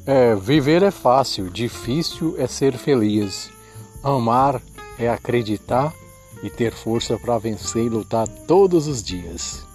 Viver é fácil, difícil é ser feliz. Amar é acreditar e ter força para vencer e lutar todos os dias.